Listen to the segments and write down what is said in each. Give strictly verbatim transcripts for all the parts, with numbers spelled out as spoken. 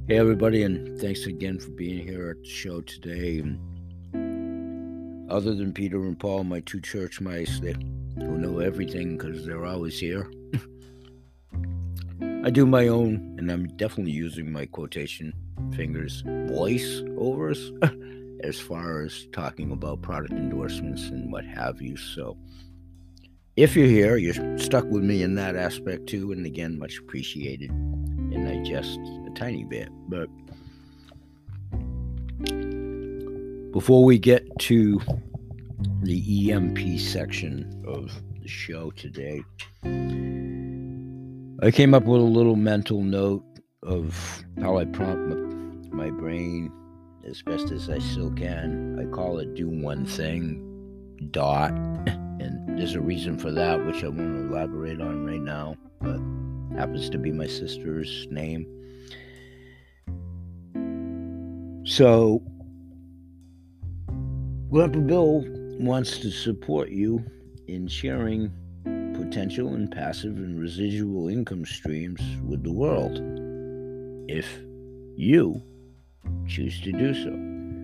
Hey, everybody, and thanks again for being here at the show today. Other than Peter and Paul, my two church mice, they, who know everything because they're always here, I do my own, and I'm definitely using my quotation fingers voice overs as far as talking about product endorsements and what have you. So if you're here, you're stuck with me in that aspect too, and again, much appreciated. And I just a tiny bit, but before we get to the E M P section of the show today, I came up with a little mental note of how I prompt my brain as best as I still can. I call it do one thing, dot, and there's a reason for that, which I won't elaborate on right now, but happens to be my sister's name. So, Grandpa Bill wants to support you in sharing potential and passive and residual income streams with the world, if you choose to do so.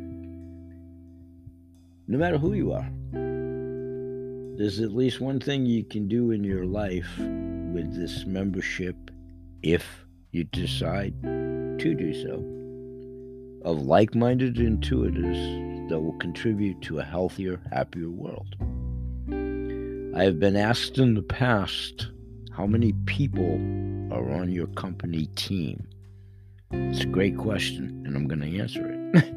No matter who you are, there's at least one thing you can do in your life with this membership, if you decide to do so, of like-minded intuitives that will contribute to a healthier, happier world. I have been asked in the past how many people are on your company team. It's a great question, and I'm going to answer it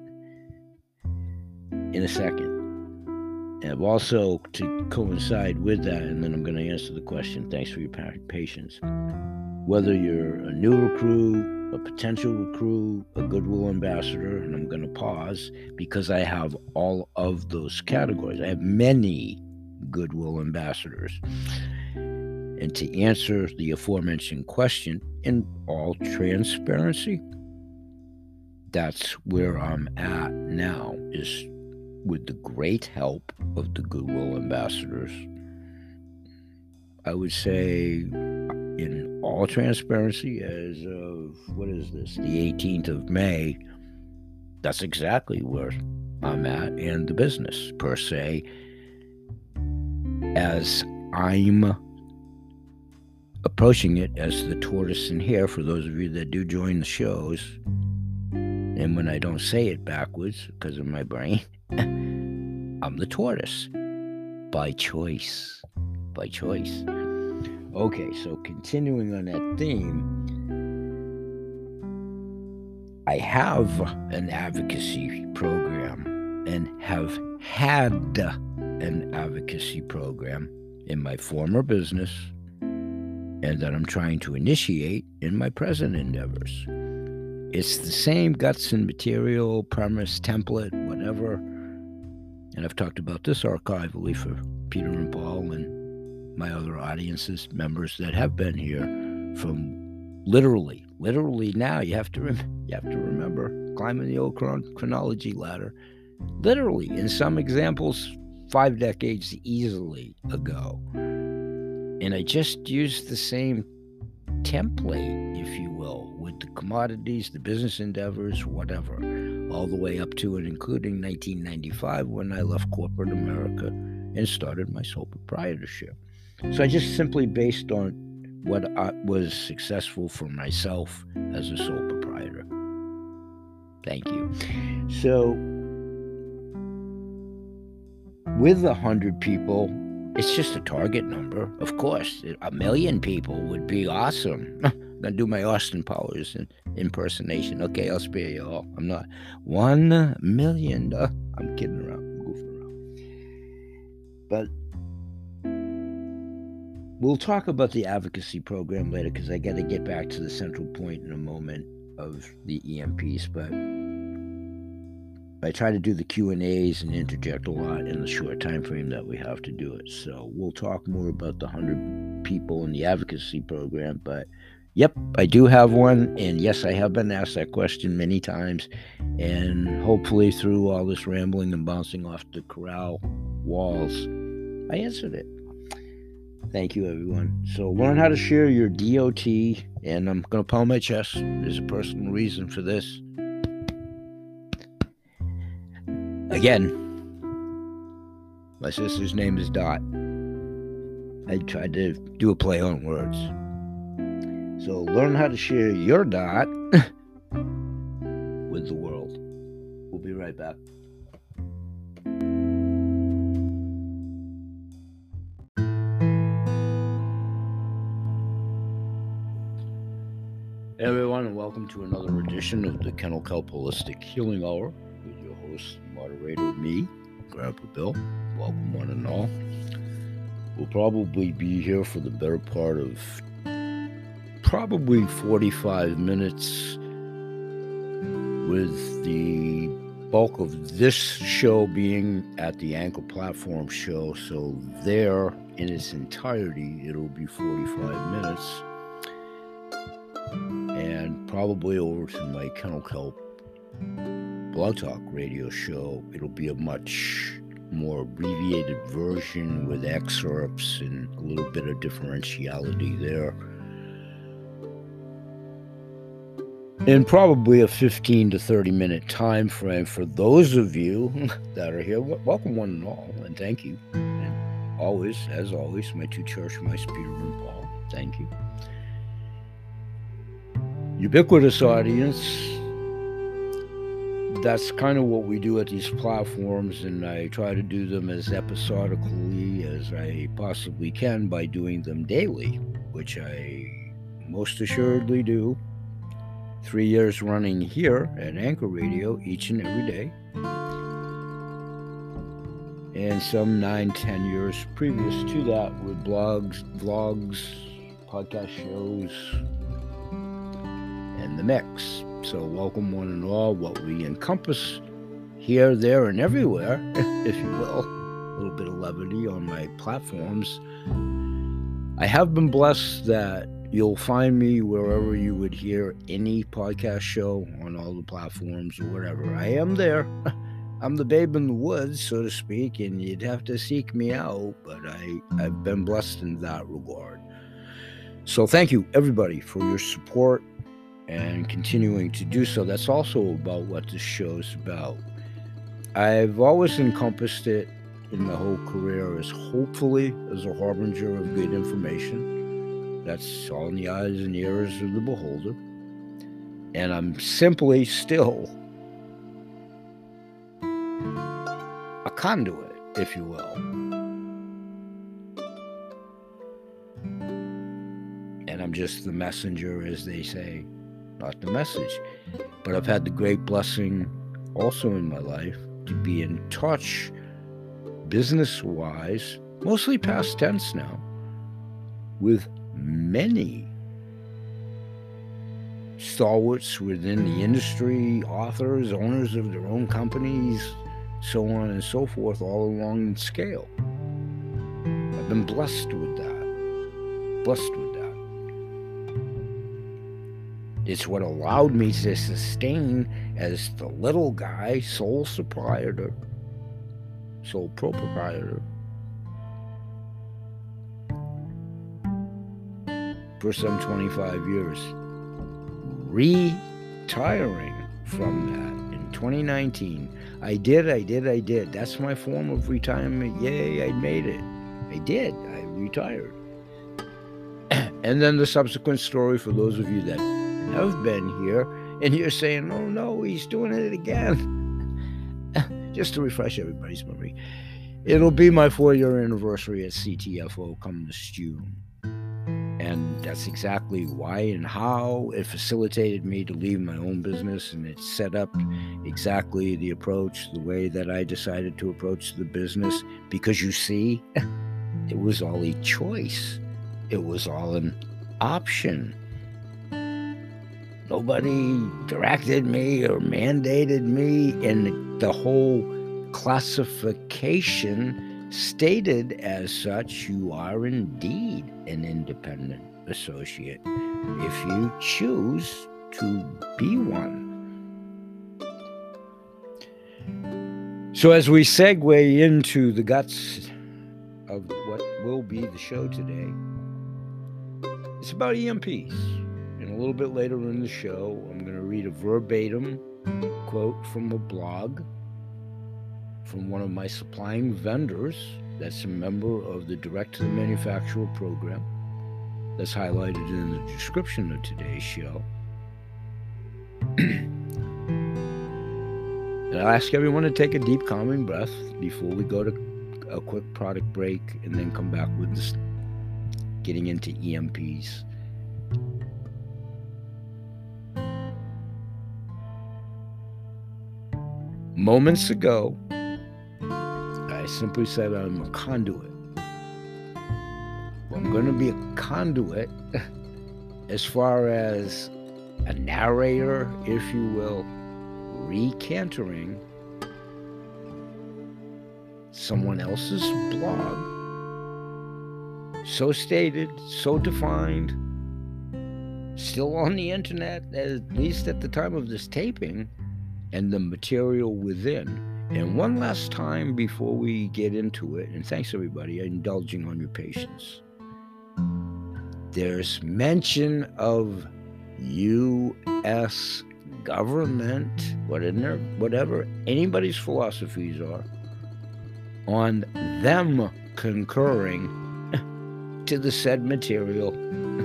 in a second. And also, to coincide with that, and then I'm going to answer the question, thanks for your patience. Whether you're a new recruit, a potential recruit, a goodwill ambassador, and I'm going to pause because I have all of those categories. I have many goodwill ambassadors. And to answer the aforementioned question in all transparency, that's where I'm at now, is with the great help of the goodwill ambassadors. I would say in all transparency, as of, what is this, the eighteenth of May, that's exactly where I'm at in the business, per se, as I'm approaching it as the tortoise and hare, for those of you that do join the shows. And when I don't say it backwards because of my brain, I'm the tortoise by choice, by choice. Okay, so continuing on that theme, I have an advocacy program and have had an advocacy program in my former business, and that I'm trying to initiate in my present endeavors. It's the same guts and material, premise, template, whatever. And I've talked about this archivally for Peter and Paul and my other audiences, members that have been here from literally, literally now, you have to rem- you have to remember, climbing the old chron- chronology ladder, literally, in some examples, five decades easily ago. And I just used the same template, if you will, with the commodities, the business endeavors, whatever, all the way up to and including nineteen ninety-five, when I left corporate America and started my sole proprietorship. So I just simply based on what I was successful for myself as a sole proprietor. Thank you. So with a hundred people, it's just a target number. Of course, a million people would be awesome. I'm going to do my Austin Powers impersonation. Okay, I'll spare you all. I'm not. One million. Uh, I'm kidding around. I'm goofing around. But we'll talk about the advocacy program later, because I got to get back to the central point in a moment of the E M Ps. But I try to do the Q and A's and interject a lot in the short time frame that we have to do it. So we'll talk more about the one hundred people in the advocacy program. But yep, I do have one. And yes, I have been asked that question many times. And hopefully through all this rambling and bouncing off the corral walls, I answered it. Thank you, everyone. So learn how to share your D O T, and I'm going to pound my chest. There's a personal reason for this. Again, my sister's name is Dot. I tried to do a play on words. So learn how to share your Dot with the world. We'll be right back. Hey everyone, and welcome to another edition of the Kennel Kelp Holistic Healing Hour with your host, moderator, me, Grandpa Bill. Welcome one and all. We'll probably be here for the better part of probably forty-five minutes, with the bulk of this show being at the Anchor Platform show. So there, in its entirety, it'll be forty-five minutes. And probably over to my Kennel Kelp Blog Talk radio show, it'll be a much more abbreviated version with excerpts and a little bit of differentiality there. And probably a fifteen to thirty minute time frame for those of you that are here. Welcome one and all, and thank you. And always, as always, my two church mice, Peter and Paul. Thank you. Ubiquitous audience, that's kind of what we do at these platforms, and I try to do them as episodically as I possibly can by doing them daily, which I most assuredly do. Three years running here at Anchor Radio each and every day, and some nine, ten years previous to that with blogs, vlogs, podcast shows, and the mix. So welcome one and all. What we encompass here, there, and everywhere, if you will. A little bit of levity on my platforms. I have been blessed that you'll find me wherever you would hear any podcast show on all the platforms or whatever. I am there. I'm the babe in the woods, so to speak, and you'd have to seek me out, but I, I've been blessed in that regard. So thank you, everybody, for your support and continuing to do so. That's also about what this show is about. I've always encompassed it in my whole career as hopefully as a harbinger of good information. That's all in the eyes and ears of the beholder. And I'm simply still a conduit, if you will. And I'm just the messenger, as they say. Not the message. But I've had the great blessing also in my life to be in touch business-wise, mostly past tense now, with many stalwarts within the industry, authors, owners of their own companies, so on and so forth, all along the scale. I've been blessed with that. Blessed with that. It's what allowed me to sustain as the little guy, sole proprietor, sole proprietor, for some twenty-five years, retiring from that in twenty nineteen. I did, I did, I did. That's my form of retirement. Yay, I made it. I did. I retired. And then the subsequent story for those of you that have been here, and you're saying, oh no, he's doing it again. Just to refresh everybody's memory, it'll be my four-year anniversary at C T F O come this June. And that's exactly why and how it facilitated me to leave my own business, and it set up exactly the approach, the way that I decided to approach the business, because you see, it was all a choice. It was all an option. Nobody directed me or mandated me, and the whole classification stated as such, you are indeed an independent associate if you choose to be one. So as we segue into the guts of what will be the show today. It's about E M Ps. And a little bit later in the show, I'm going to read a verbatim quote from a blog from one of my supplying vendors that's a member of the Direct to the Manufacturer program that's highlighted in the description of today's show. And I'll ask everyone to take a deep, calming breath before we go to a quick product break and then come back with this, getting into E M Ps. Moments ago, I simply said I'm a conduit. Well, I'm going to be a conduit as far as a narrator, if you will, recantering someone else's blog, so stated, so defined, still on the internet, at least at the time of this taping, and the material within. And one last time before we get into it, and thanks everybody indulging on your patience, there's mention of U S government, whatever, whatever anybody's philosophies are, on them concurring to the said material.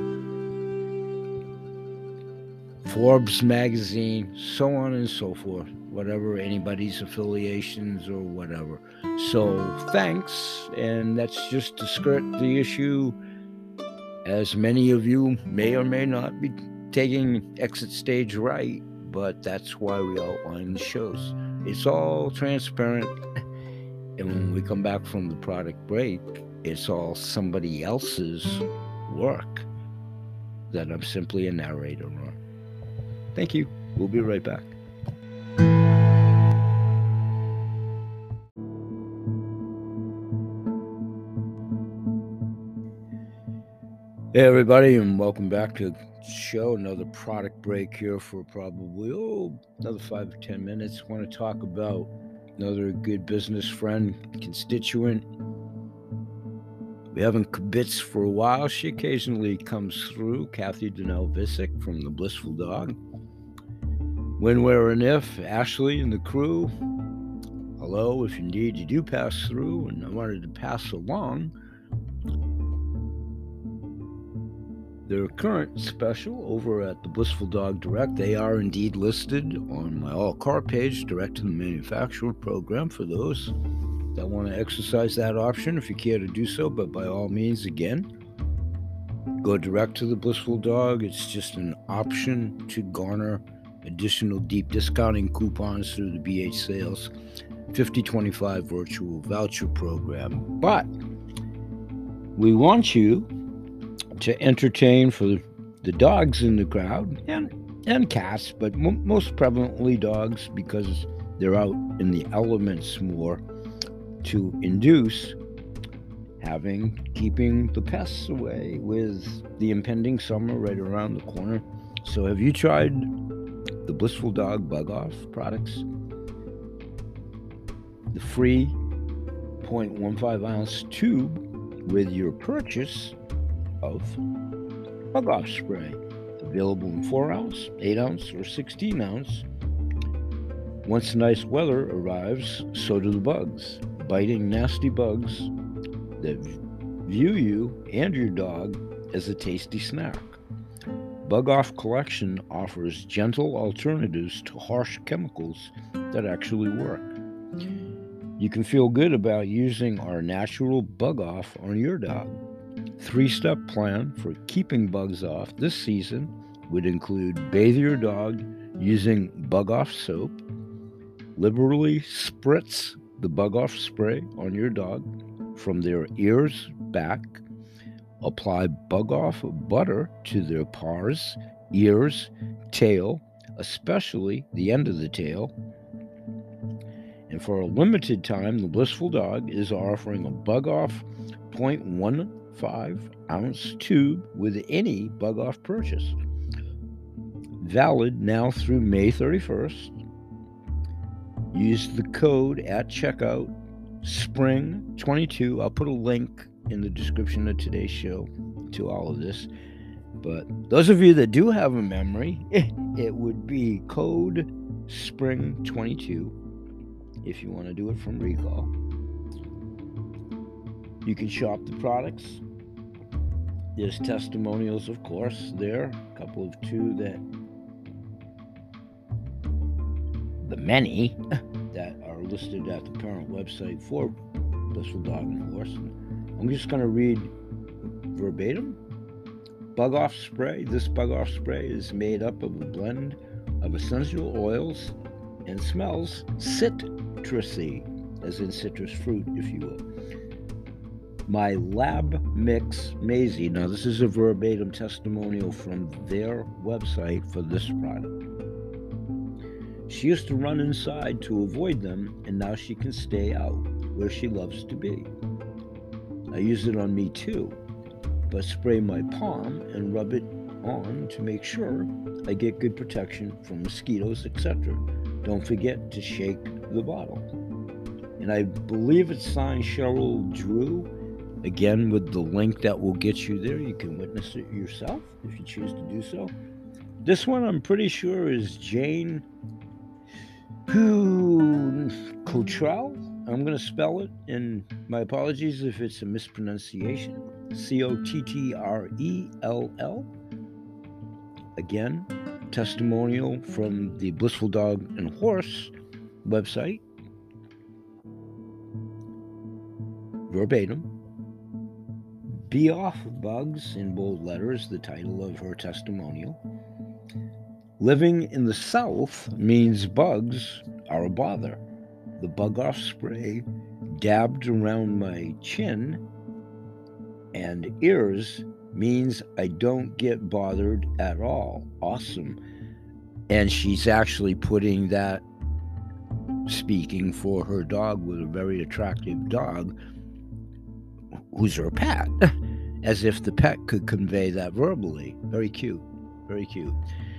Forbes magazine, so on and so forth, whatever anybody's affiliations or whatever. So thanks, and that's just to skirt the issue, as many of you may or may not be taking exit stage right, but that's why we outline the shows. It's all transparent, and when we come back from the product break, it's all somebody else's work that I'm simply a narrator on. Thank you. We'll be right back. Hey everybody, and welcome back to the show. Another product break here for probably oh another five or ten minutes. I want to talk about another good business friend, constituent. We haven't kibitz for a while. She occasionally comes through. Kathy Donnell Visick from the Blissful Dog. When, where, and if, Ashley and the crew. Hello, if indeed you do pass through, and I wanted to pass along their current special over at the Blissful Dog Direct. They are indeed listed on my all-car page, Direct to the Manufacturer program, for those that want to exercise that option, if you care to do so. But by all means, again, go direct to the Blissful Dog. It's just an option to garner additional deep discounting coupons through the B H Sales fifty twenty-five virtual voucher program. But we want you to entertain for the dogs in the crowd, and, and cats, but m- most prevalently dogs, because they're out in the elements more, to induce having, keeping the pests away with the impending summer right around the corner. So have you tried the Blissful Dog Bug Off products? The free zero point one five ounce tube with your purchase of Bug Off spray, available in four ounce, eight ounce, or sixteen ounce. Once nice weather arrives, so do the bugs. Biting, nasty bugs that view you and your dog as a tasty snack. Bug Off Collection offers gentle alternatives to harsh chemicals that actually work. You can feel good about using our natural Bug Off on your dog. Three-step plan for keeping bugs off this season would include bathe your dog using Bug Off soap, liberally spritz the Bug Off spray on your dog from their ears back, apply Bug Off butter to their paws, ears, tail, especially the end of the tail. And for a limited time, the Blissful Dog is offering a Bug Off zero point one five ounce tube with any Bug Off purchase. Valid now through May thirty-first. Use the code at checkout, Spring twenty-two. I'll put a link in the description of today's show to all of this. But those of you that do have a memory, it would be code Spring twenty-two if you want to do it from recall. You can shop the products. There's testimonials, of course, there. A couple of two that, the many that are listed at the parent website for Blissful Dog and Horse. I'm just going to read verbatim. Bug Off Spray. This Bug Off Spray is made up of a blend of essential oils and smells citrusy, as in citrus fruit, if you will. My Lab Mix Maisie. Now, this is a verbatim testimonial from their website for this product. She used to run inside to avoid them, and now she can stay out where she loves to be. I use it on me too, but spray my palm and rub it on to make sure I get good protection from mosquitoes, et cetera. Don't forget to shake the bottle. And I believe it's signed Cheryl Drew. Again, with the link that will get you there, you can witness it yourself if you choose to do so. This one I'm pretty sure is Jane Cottrell. I'm going to spell it, and my apologies if it's a mispronunciation. C O T T R E L L. Again, testimonial from the Blissful Dog and Horse website. Verbatim. Be Off Bugs, in bold letters, the title of her testimonial. Living in the South means bugs are a bother. The Bug Off Spray dabbed around my chin and ears means I don't get bothered at all. Awesome. And she's actually putting that, speaking for her dog, with a very attractive dog who's her pet, as if the pet could convey that verbally. Very cute. Very cute.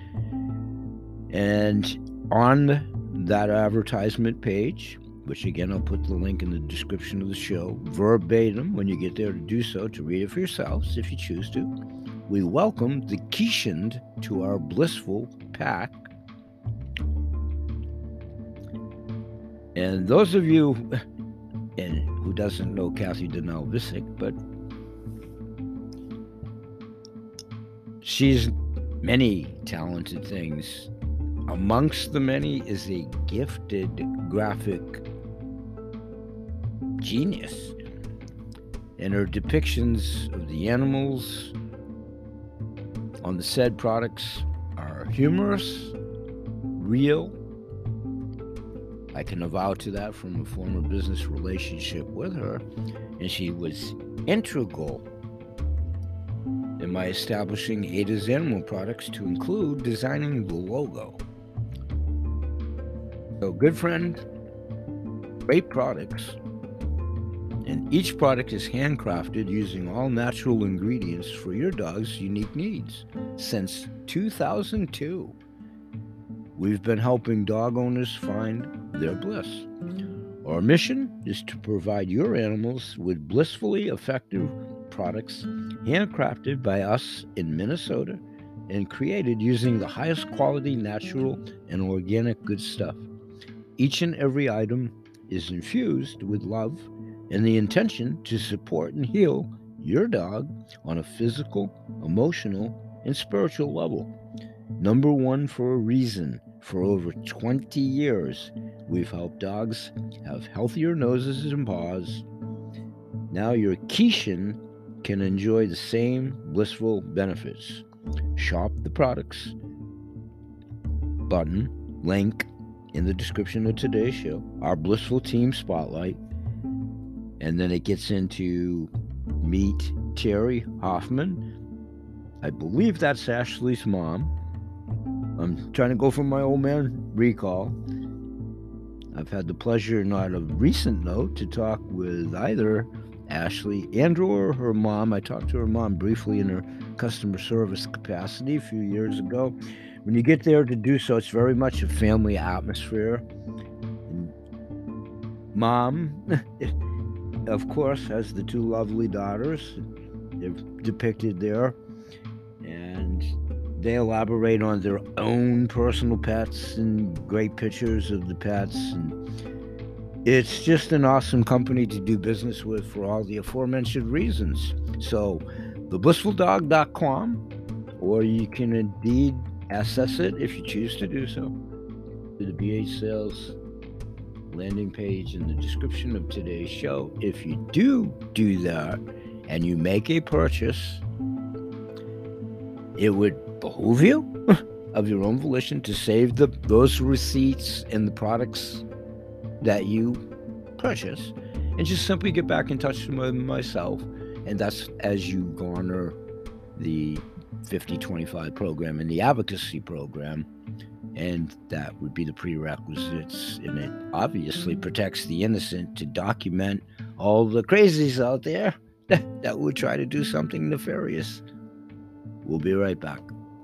And on that advertisement page, which again, I'll put the link in the description of the show, verbatim, when you get there to do so, to read it for yourselves if you choose to, we welcome the Keeshond to our Blissful pack. And those of you and who doesn't know Kathy Donnell Visick, but she's many talented things. Amongst the many is a gifted graphic genius, and her depictions of the animals on the said products are humorous, real. I can avow to that from a former business relationship with her, and she was integral in my establishing Ada's Animal Products to include designing the logo. So, good friend, great products, and each product is handcrafted using all natural ingredients for your dog's unique needs. Since two thousand two, we've been helping dog owners find their bliss. Our mission is to provide your animals with blissfully effective products handcrafted by us in Minnesota and created using the highest quality natural and organic good stuff. Each and every item is infused with love and the intention to support and heal your dog on a physical, emotional, and spiritual level. Number one for a reason. For over twenty years, we've helped dogs have healthier noses and paws. Now your Keeshond can enjoy the same blissful benefits. Shop the products button, link in the description of today's show, our Blissful Team Spotlight, and then it gets into meet Terry Hoffman. I believe that's Ashley's mom. I'm trying to go from my old man recall. I've had the pleasure, not a recent note, to talk with either Ashley and or her mom. I talked to her mom briefly in her customer service capacity a few years ago. When you get there to do so, it's very much a family atmosphere. And Mom, of course, has the two lovely daughters. They're depicted there, and they elaborate on their own personal pets and great pictures of the pets. And it's just an awesome company to do business with for all the aforementioned reasons. So, the blissful dog dot com, or you can indeed access it if you choose to do so. The B H Sales landing page in the description of today's show. If you do do that and you make a purchase, it would behoove you of your own volition to save the those receipts and the products that you purchase, and just simply get back in touch with myself. And that's as you garner the fifty twenty-five program and the advocacy program, and that would be the prerequisites. And it obviously protects the innocent to document all the crazies out there that, that would try to do something nefarious. We'll be right back.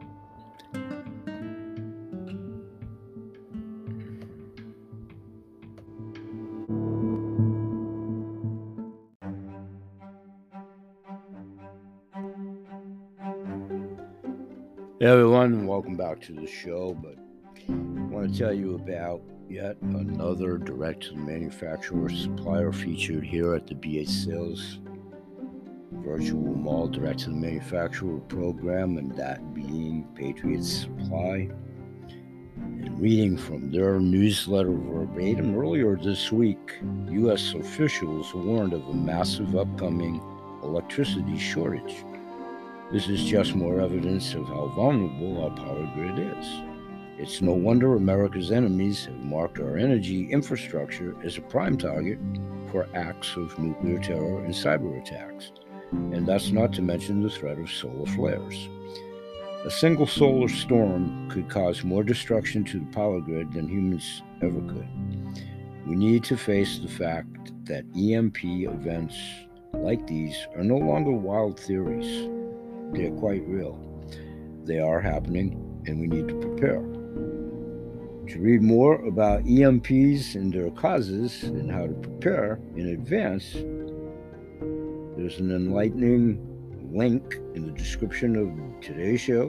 Hey everyone, welcome back to the show. But I want to tell you about yet another direct-to-the-manufacturer supplier featured here at the B H Sales Virtual Mall direct-to-the-manufacturer program, and that being Patriot Supply. And reading from their newsletter verbatim, earlier this week, U S officials warned of a massive upcoming electricity shortage. This is just more evidence of how vulnerable our power grid is. It's no wonder America's enemies have marked our energy infrastructure as a prime target for acts of nuclear terror and cyber attacks. And that's not to mention the threat of solar flares. A single solar storm could cause more destruction to the power grid than humans ever could. We need to face the fact that E M P events like these are no longer wild theories. They're quite real. They are happening, and we need to prepare. To read more about E M Ps and their causes and how to prepare in advance, there's an enlightening link in the description of today's show.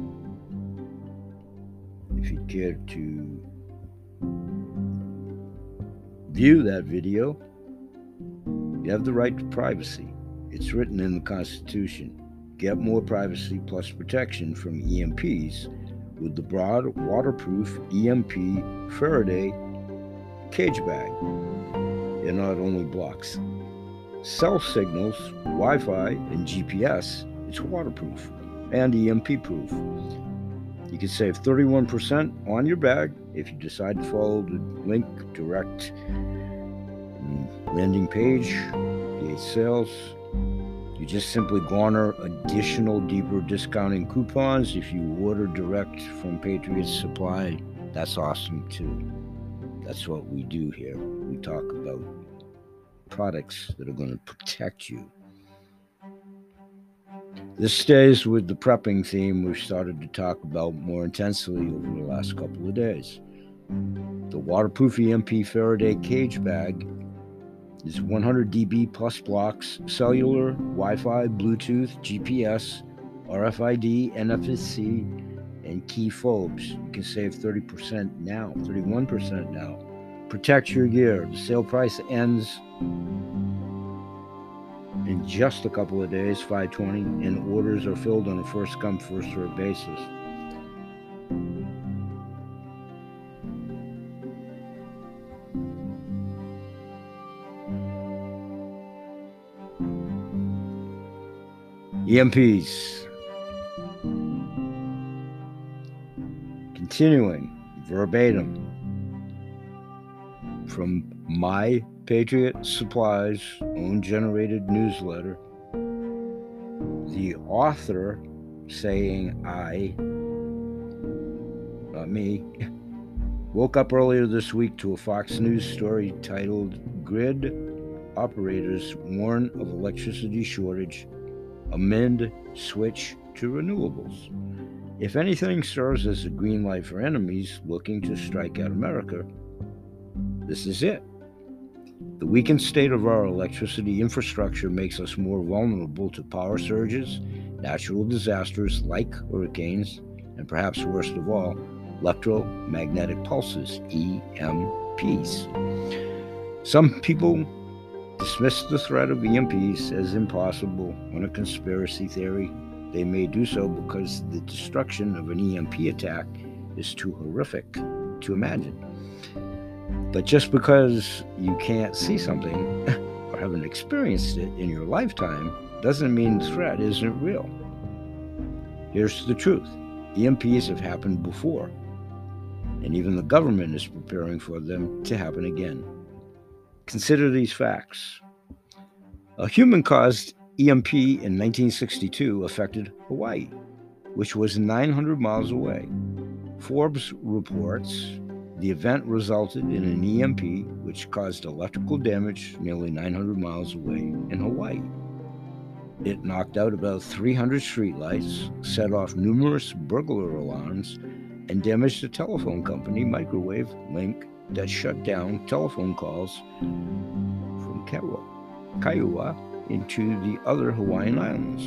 If you care to view that video, you have the right to privacy. It's written in the Constitution. Get more privacy plus protection from E M Ps with the broad, waterproof E M P Faraday cage bag. It not only blocks cell signals, Wi-Fi, and G P S, it's waterproof and E M P proof. You can save thirty-one percent on your bag if you decide to follow the link direct landing page, B H Sales. You just simply garner additional deeper discounting coupons if you order direct from Patriot Supply. That's awesome too. That's what we do here. We talk about products that are going to protect you. This stays with the prepping theme we've started to talk about more intensely over the last couple of days. The waterproof E M P Faraday cage bag is one hundred D B plus blocks, cellular, Wi-Fi, Bluetooth, G P S, R F I D, N F C, and key fobs. You can save thirty percent now, thirty-one percent now. Protect your gear. The sale price ends in just a couple of days, five twenty, and orders are filled on a first-come, first-served basis. E M Ps. Continuing verbatim from my Patriot Supply's own generated newsletter, the author saying I, not me, woke up earlier this week to a Fox News story titled "Grid Operators Warn of Electricity Shortage Amid Switch to Renewables." If anything serves as a green light for enemies looking to strike at America, this is it. The weakened state of our electricity infrastructure makes us more vulnerable to power surges, natural disasters like hurricanes, and perhaps worst of all, electromagnetic pulses, E M Ps. Some people dismiss the threat of E M Ps as impossible. On a conspiracy theory, they may do so because the destruction of an E M P attack is too horrific to imagine. But just because you can't see something or haven't experienced it in your lifetime doesn't mean the threat isn't real. Here's the truth. E M Ps have happened before, and even the government is preparing for them to happen again. Consider these facts. A human-caused E M P in nineteen sixty-two affected Hawaii, which was nine hundred miles away. Forbes reports the event resulted in an E M P which caused electrical damage nearly nine hundred miles away in Hawaii. It knocked out about three hundred streetlights, set off numerous burglar alarms, and damaged a telephone company, Microwave Link, that shut down telephone calls from Kaiua into the other Hawaiian islands.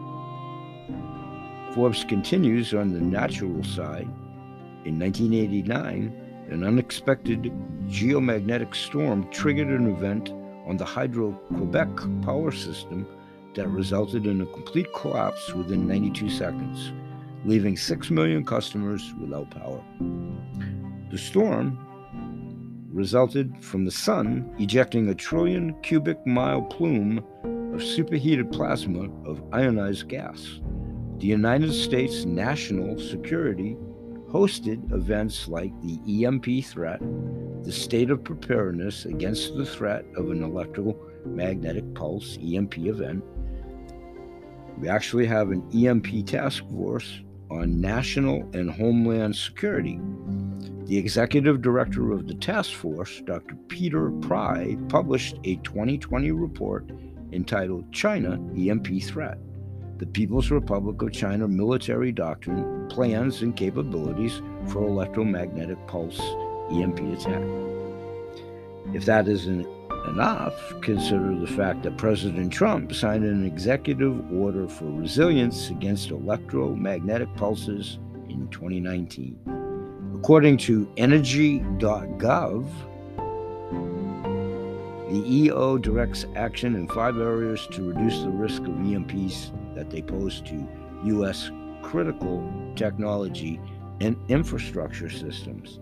Forbes continues on the natural side. In nineteen eighty-nine, an unexpected geomagnetic storm triggered an event on the Hydro-Quebec power system that resulted in a complete collapse within ninety-two seconds, leaving six million customers without power. The storm resulted from the sun ejecting a trillion cubic mile plume of superheated plasma of ionized gas. The United States National Security hosted events like the E M P threat, the state of preparedness against the threat of an electromagnetic pulse E M P event. We actually have an E M P task force on national and homeland security. The executive director of the task force, Doctor Peter Pry, published a twenty twenty report entitled China E M P Threat: The People's Republic of China Military Doctrine, Plans and Capabilities for Electromagnetic Pulse E M P Attack. If that isn't enough, consider the fact that President Trump signed an executive order for resilience against electromagnetic pulses in twenty nineteen. According to energy dot gov, the E O directs action in five areas to reduce the risk of E M Ps that they pose to U S critical technology and infrastructure systems.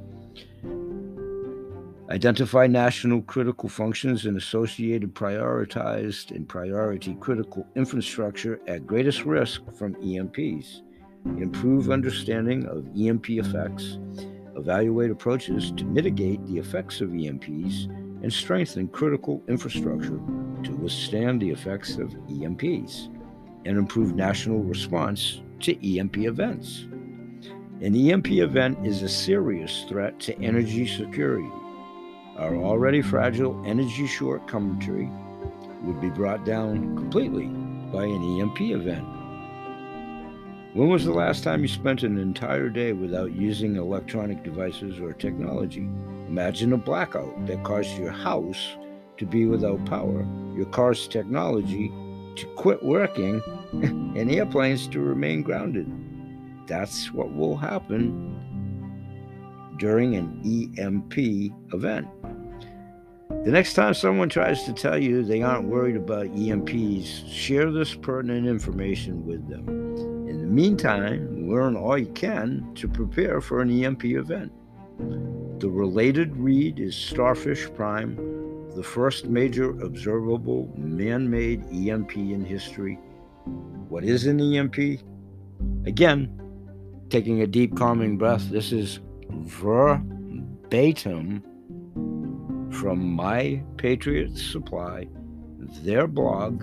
Identify national critical functions and associated prioritized and priority critical infrastructure at greatest risk from E M Ps. Improve understanding of E M P effects. Evaluate approaches to mitigate the effects of E M Ps and strengthen critical infrastructure to withstand the effects of E M Ps, and improve national response to E M P events. An E M P event is a serious threat to energy security. Our already fragile energy shortcoming would be brought down completely by an E M P event. When was the last time you spent an entire day without using electronic devices or technology? Imagine a blackout that caused your house to be without power, your car's technology to quit working, and airplanes to remain grounded. That's what will happen during an E M P event. The next time someone tries to tell you they aren't worried about E M Ps, share this pertinent information with them. In the meantime, learn all you can to prepare for an E M P event. The related read is Starfish Prime, the first major observable man-made E M P in history. What is an E M P? Again, taking a deep calming breath, this is verbatim from My Patriot Supply, their blog.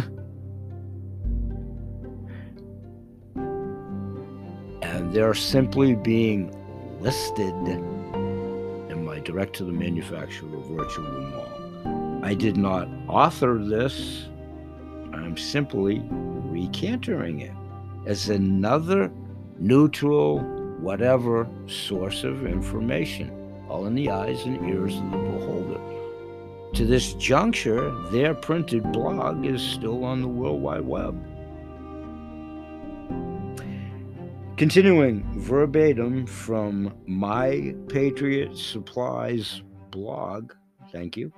And they're simply being listed in my direct to the manufacturer virtual mall. I did not author this. I'm simply recantering it as another neutral, whatever source of information, all in the eyes and ears of the beholder. to this juncture, their printed blog is still on the World Wide Web. Continuing verbatim from My Patriot Supplies blog, thank you.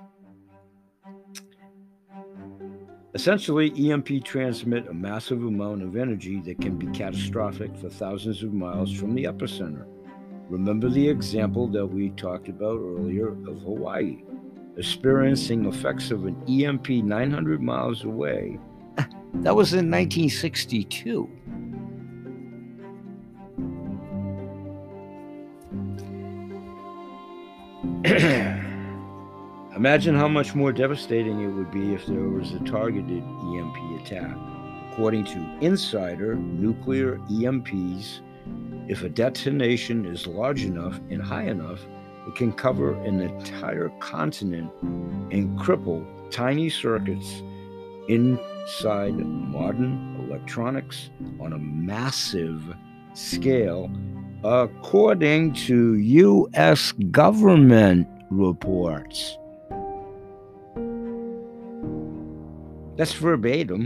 Essentially, E M P transmit a massive amount of energy that can be catastrophic for thousands of miles from the epicenter. Remember the example that we talked about earlier of Hawaii, experiencing effects of an E M P nine hundred miles away. That was in nineteen sixty-two. Imagine how much more devastating it would be if there was a targeted E M P attack. According to Insider, nuclear E M Ps, if a detonation is large enough and high enough, it can cover an entire continent and cripple tiny circuits inside modern electronics on a massive scale, according to U S government reports. That's verbatim.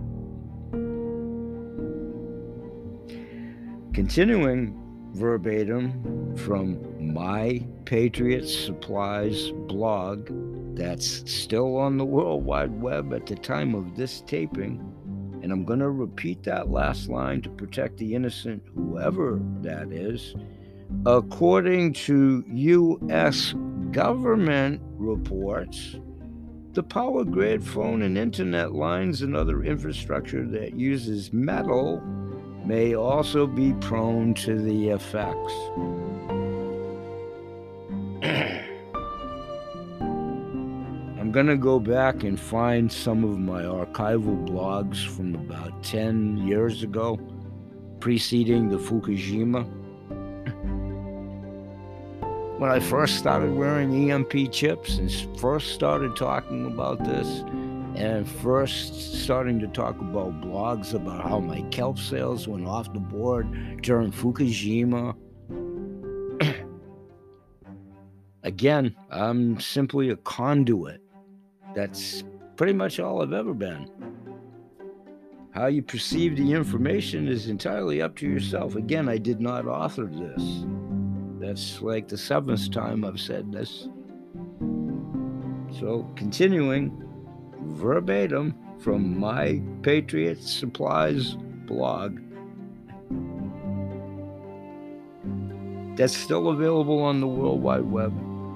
Continuing verbatim from My Patriot Supplies blog, that's still on the World Wide Web at the time of this taping, and I'm going to repeat that last line to protect the innocent, whoever that is. According to U S government reports, the power grid, phone and internet lines and other infrastructure that uses metal may also be prone to the effects. I'm going to go back and find some of my archival blogs from about ten years ago, preceding the Fukushima. When I first started wearing E M P chips and first started talking about this, and first starting to talk about blogs about how my kelp sales went off the board during Fukushima. Again, I'm simply a conduit. That's pretty much all I've ever been. How you perceive the information is entirely up to yourself. Again, I did not author this. That's like the seventh time I've said this. So, continuing verbatim from My Patriot Supplies blog, that's still available on the World Wide Web.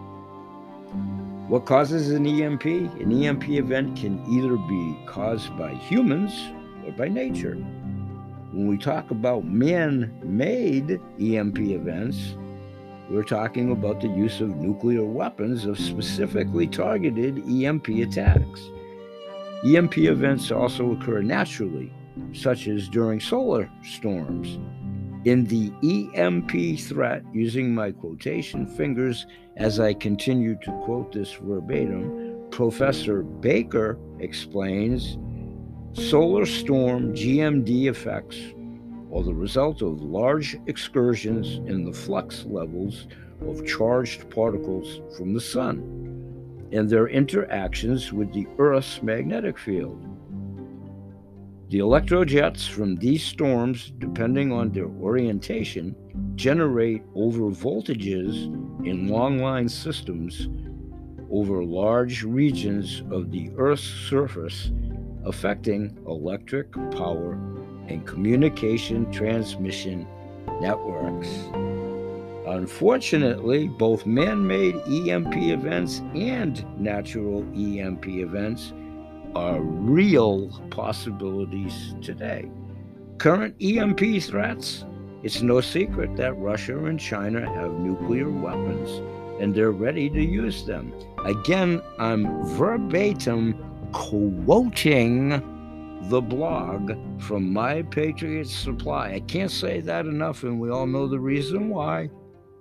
What causes an E M P? An E M P event can either be caused by humans or by nature. When we talk about man-made E M P events, we're talking about the use of nuclear weapons of specifically targeted E M P attacks. E M P events also occur naturally, such as during solar storms. In the E M P threat, using my quotation fingers as I continue to quote this verbatim, Professor Baker explains, solar storm G M D effects are the result of large excursions in the flux levels of charged particles from the sun and their interactions with the Earth's magnetic field. The electrojets from these storms, depending on their orientation, generate over voltages in long-line systems over large regions of the Earth's surface, affecting electric power and communication transmission networks. Unfortunately, both man-made E M P events and natural E M P events are real possibilities today. Current E M P threats, it's no secret that Russia and China have nuclear weapons, and they're ready to use them. Again, I'm verbatim quoting the blog from My Patriot Supply. I can't say that enough, and we all know the reason why.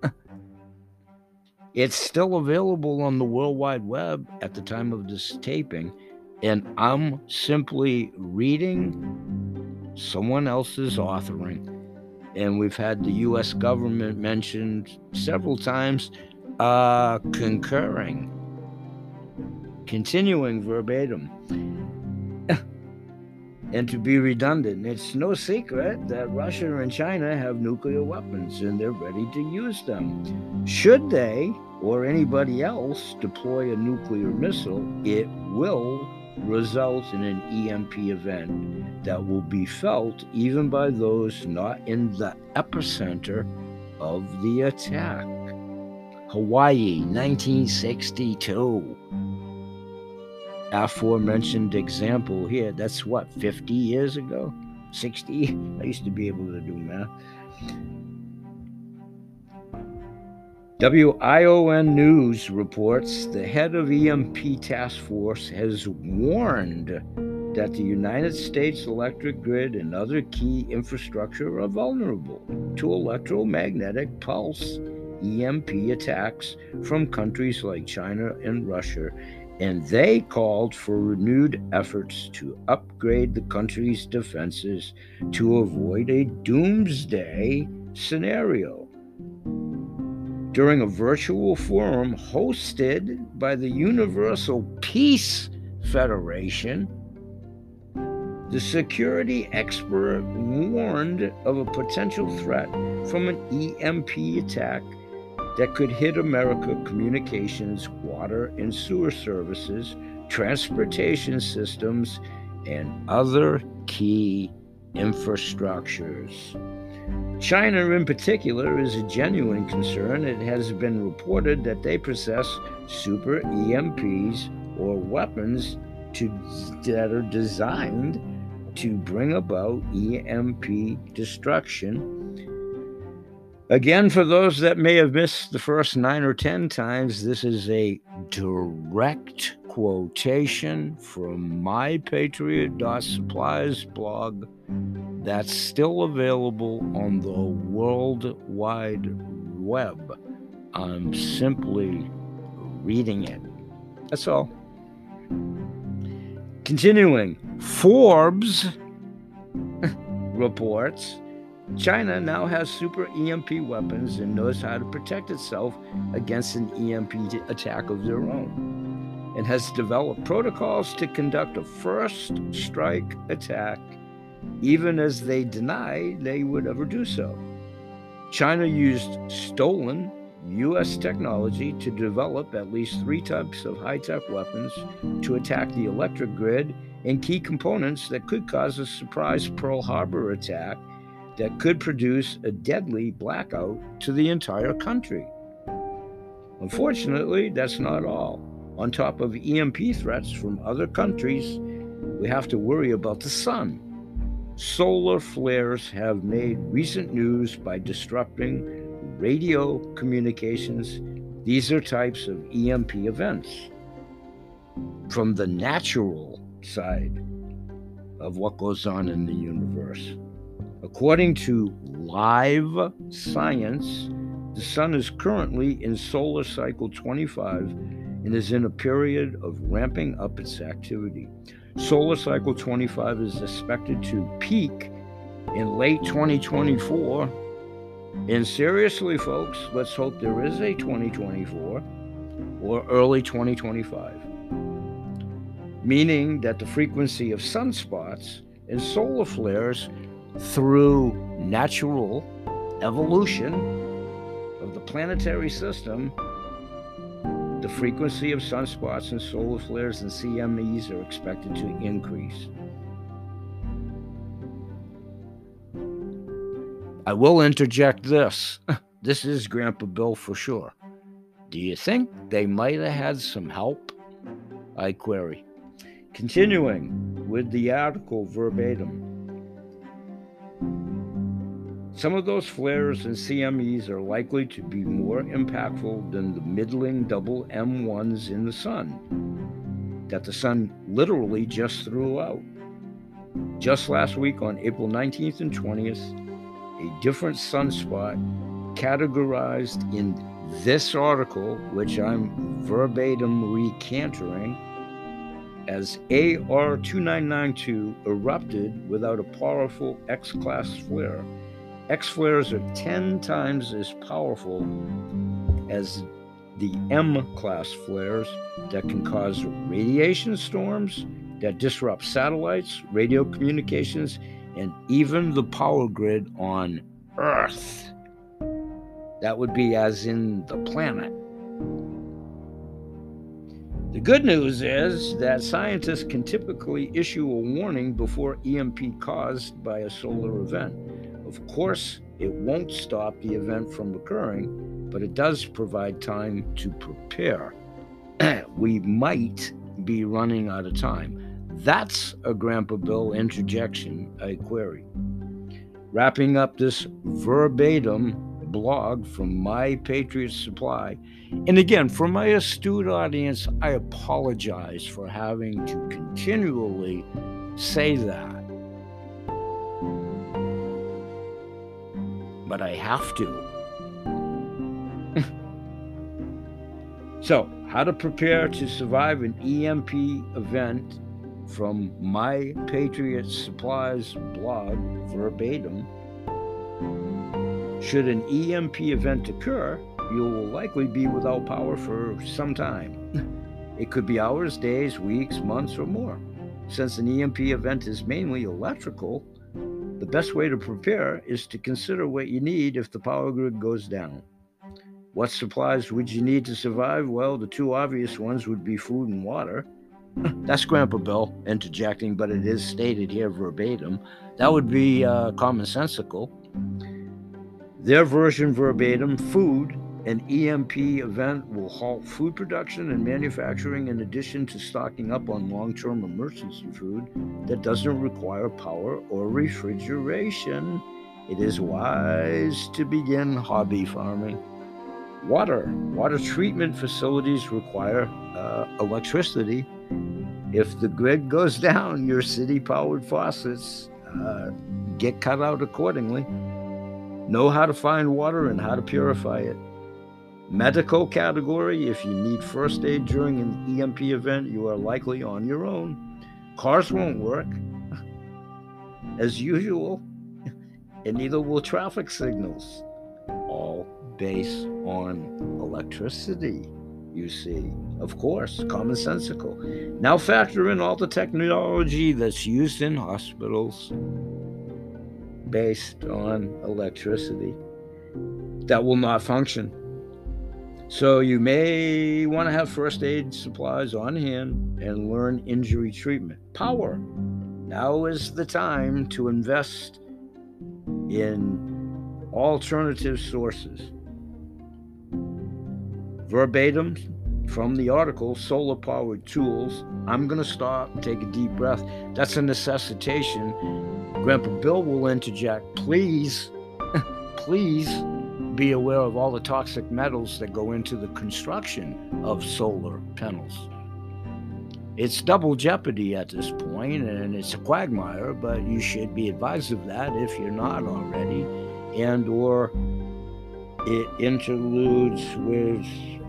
It's still available on the World Wide Web at the time of this taping, and I'm simply reading someone else's authoring. And we've had the U S government mentioned several times, uh, concurring. Continuing verbatim, and to be redundant, it's no secret that Russia and China have nuclear weapons and they're ready to use them. Should they or anybody else deploy a nuclear missile, it will result in an E M P event that will be felt even by those not in the epicenter of the attack. Hawaii, nineteen sixty-two. Aforementioned example here, that's what, fifty years ago? sixty? I used to be able to do math. W I O N News reports the head of E M P task force has warned that the United States electric grid and other key infrastructure are vulnerable to electromagnetic pulse E M P attacks from countries like China and Russia, and they called for renewed efforts to upgrade the country's defenses to avoid a doomsday scenario. During a virtual forum hosted by the Universal Peace Federation, the security expert warned of a potential threat from an E M P attack that could hit America communications, water and sewer services, transportation systems, and other key infrastructures. China in particular is a genuine concern. It has been reported that they possess super E M Ps or weapons to, that are designed to bring about E M P destruction. Again, for those that may have missed the first nine or ten times, this is a direct quotation from my patriot dot supplies blog that's still available on the World Wide Web. I'm simply reading it. That's all. Continuing, Forbes reports China now has super E M P weapons and knows how to protect itself against an E M P attack of their own, and has developed protocols to conduct a first strike attack, even as they deny they would ever do so. China used stolen U S technology to develop at least three types of high-tech weapons to attack the electric grid and key components that could cause a surprise Pearl Harbor attack that could produce a deadly blackout to the entire country. Unfortunately, that's not all. On top of E M P threats from other countries, we have to worry about the sun. Solar flares have made recent news by disrupting radio communications. These are types of E M P events. From the natural side of what goes on in the universe. According to Live Science, the sun is currently in solar cycle twenty-five and is in a period of ramping up its activity. Solar cycle twenty-five is expected to peak in late twenty twenty-four. And seriously, folks, let's hope there is a twenty twenty-four or early twenty twenty-five, meaning that the frequency of sunspots and solar flares through natural evolution of the planetary system, the frequency of sunspots and solar flares and C M Es are expected to increase. I will interject this. This is Grandpa Bill for sure. Do you think they might have had some help? I query. Continuing with the article verbatim. Some of those flares and C M Es are likely to be more impactful than the middling double M ones in the sun, that the sun literally just threw out. Just last week on April nineteenth and twentieth, a different sunspot categorized in this article, which I'm verbatim recanting, as A R two nine nine two erupted without a powerful X-class flare. X-flares are ten times as powerful as the M-class flares that can cause radiation storms that disrupt satellites, radio communications, and even the power grid on Earth. That would be as in the planet. The good news is that scientists can typically issue a warning before E M P caused by a solar event. Of course, it won't stop the event from occurring, but it does provide time to prepare. We might be running out of time. That's a Grandpa Bill interjection, I query. Wrapping up this verbatim blog from My Patriot Supply. And again, for my astute audience, I apologize for having to continually say that. But I have to. So, how to prepare to survive an E M P event from My Patriot Supplies blog, verbatim. Should an E M P event occur, you will likely be without power for some time. It could be hours, days, weeks, months, or more. Since an E M P event is mainly electrical, the best way to prepare is to consider what you need if the power grid goes down. What supplies would you need to survive? Well, the two obvious ones would be food and water. That's Grandpa Bill interjecting, but it is stated here verbatim. That would be uh, commonsensical. Their version verbatim, food, an E M P event will halt food production and manufacturing in addition to stocking up on long-term emergency food that doesn't require power or refrigeration. It is wise to begin hobby farming. Water. Water treatment facilities require uh, electricity. If the grid goes down, your city-powered faucets uh, get cut out accordingly. Know how to find water and how to purify it. Medical category, if you need first aid during an E M P event, you are likely on your own. Cars won't work, as usual, and neither will traffic signals. All based on electricity, you see. Of course, commonsensical. Now factor in all the technology that's used in hospitals based on electricity that will not function. So you may want to have first aid supplies on hand and learn injury treatment. Power. Now is the time to invest in alternative sources. Verbatim from the article, Solar Powered Tools. I'm going to stop and take a deep breath. That's a necessitation. Grandpa Bill will interject. Please, please be aware of all the toxic metals that go into the construction of solar panels. It's double jeopardy at this point, and it's a quagmire, but you should be advised of that if you're not already, and or it interludes with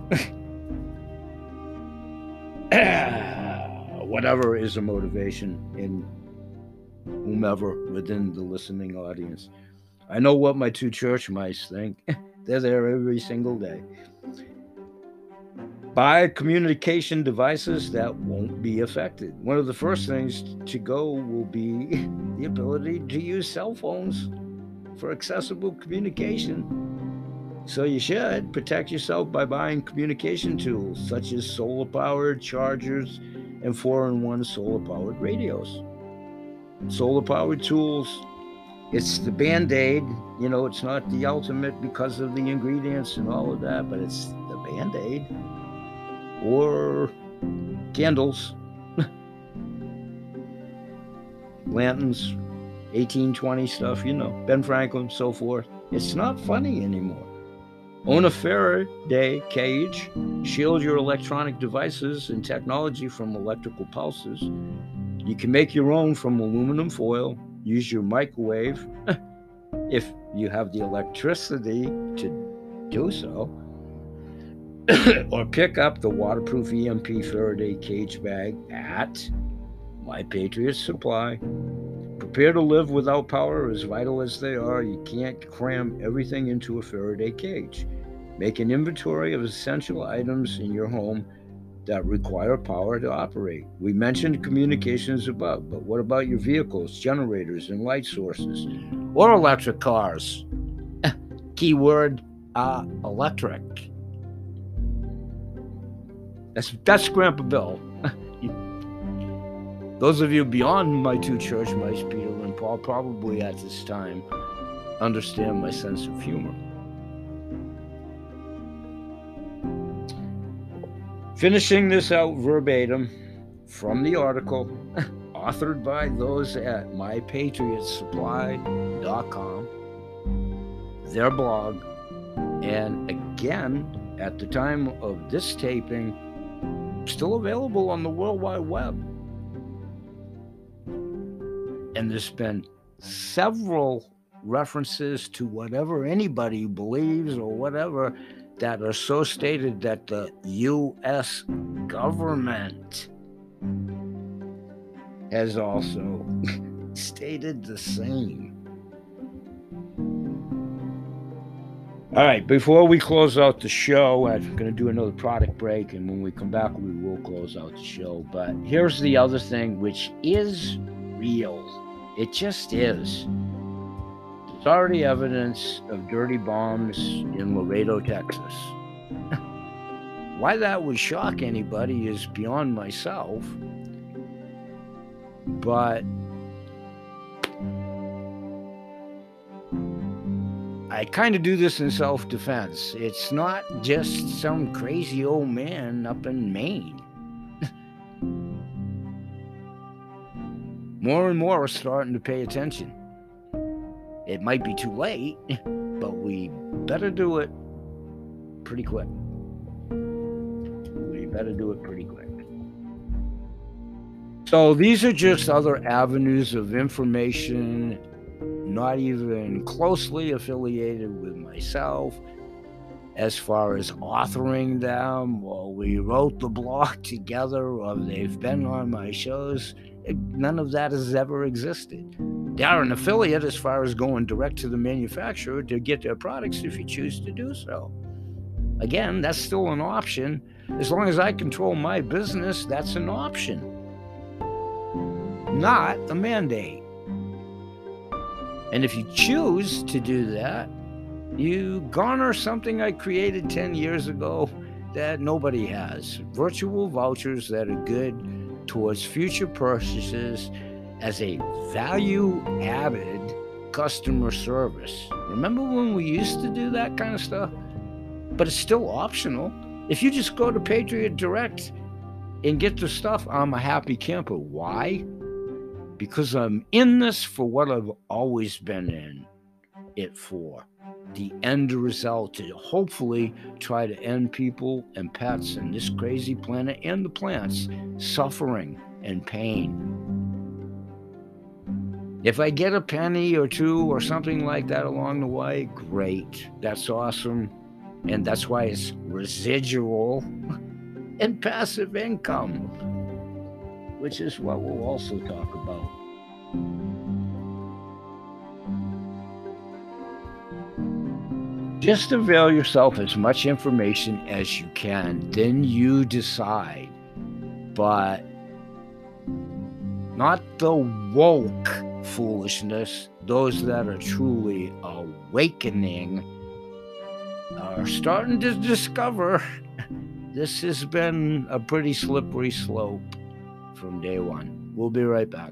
whatever is a motivation in whomever within the listening audience. I know what my two church mice think. They're there every single day. Buy communication devices that won't be affected. One of the first things to go will be the ability to use cell phones for accessible communication. So you should protect yourself by buying communication tools such as solar-powered chargers and four in one solar-powered radios. Solar-powered tools, it's the Band-Aid. You know, it's not the ultimate because of the ingredients and all of that, but it's the Band-Aid. Or candles, lanterns, eighteen twenty stuff, you know, Ben Franklin, so forth. It's not funny anymore. Own a Faraday cage, shield your electronic devices and technology from electrical pulses. You can make your own from aluminum foil, use your microwave if you have the electricity to do so, or pick up the waterproof E M P Faraday cage bag at My Patriot Supply. Prepare to live without power. As vital as they are, you can't cram everything into a Faraday cage. Make an inventory of essential items in your home that require power to operate. We mentioned communications above, but what about your vehicles, generators, and light sources? Or electric cars? Keyword, uh, electric. That's, that's Grandpa Bill. Those of you beyond my two church mice, Peter and Paul, probably at this time understand my sense of humor. Finishing this out verbatim from the article, authored by those at my patriot supply dot com, their blog, and again, at the time of this taping, still available on the World Wide Web. And there's been several references to whatever anybody believes or whatever that are so stated that the U S government has also stated the same. All right, before we close out the show, I'm going to do another product break, and when we come back, we will close out the show. But here's the other thing, which is real. It just is. There's already evidence of dirty bombs in Laredo, Texas. Why that would shock anybody is beyond myself. But I kind of do this in self-defense. It's not just some crazy old man up in Maine. More and more are starting to pay attention. It might be too late, but we better do it pretty quick. We better do it pretty quick. So these are just other avenues of information, not even closely affiliated with myself as far as authoring them, or we wrote the blog together, or they've been on my shows. None of that has ever existed. They are an affiliate as far as going direct to the manufacturer to get their products if you choose to do so. Again, that's still an option. As long as I control my business, that's an option, not a mandate. And if you choose to do that, you garner something I created ten years ago that nobody has. Virtual vouchers that are good towards future purchases as a value-added customer service. Remember when we used to do that kind of stuff? But it's still optional. If you just go to Patriot Direct and get the stuff, I'm a happy camper. Why? Because I'm in this for what I've always been in it for. The end result to hopefully try to end people and pets and this crazy planet and the plants suffering and pain. If I get a penny or two or something like that along the way, great. That's awesome. And that's why it's residual and passive income, which is what we'll also talk about. Just avail yourself as much information as you can, then you decide. But not the woke foolishness. Those that are truly awakening are starting to discover this has been a pretty slippery slope from day one. We'll be right back.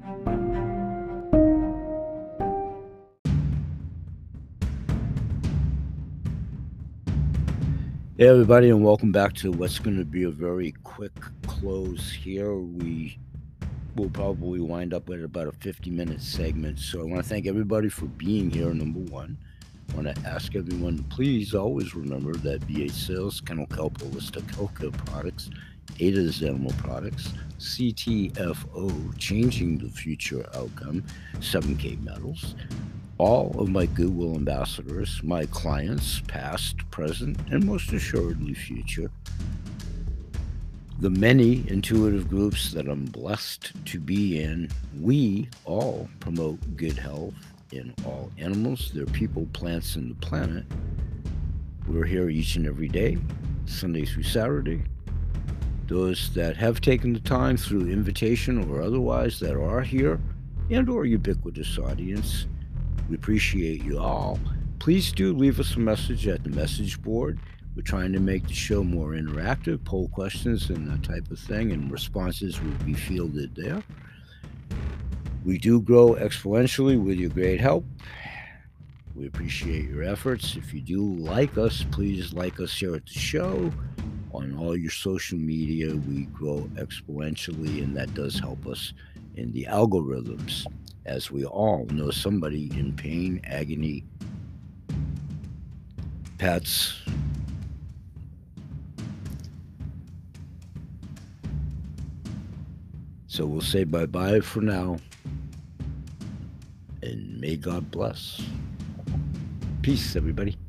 Hey everybody, and welcome back to what's going to be a very quick close here. We will probably wind up with about a fifty minute segment, so I want to thank everybody for being here, number one. I want to ask everyone to please always remember that B H Sales, Kennel Kelp Holistic Healthcare Products, Ada's Animal Products, C T F O, Changing the Future Outcome, seven K Metals, all of my Goodwill ambassadors, my clients, past, present, and most assuredly future, the many intuitive groups that I'm blessed to be in, we all promote good health in all animals, their people, plants, and the planet. We're here each and every day, Sunday through Saturday. Those that have taken the time through invitation or otherwise that are here and or ubiquitous audience, we appreciate you all. Please do leave us a message at the message board. We're trying to make the show more interactive, poll questions and that type of thing, and responses will be fielded there. We do grow exponentially with your great help. We appreciate your efforts. If you do like us, please like us here at the show. On all your social media, we grow exponentially, and that does help us in the algorithms, as we all know somebody in pain, agony, pets. So we'll say bye-bye for now, and may God bless. Peace, everybody.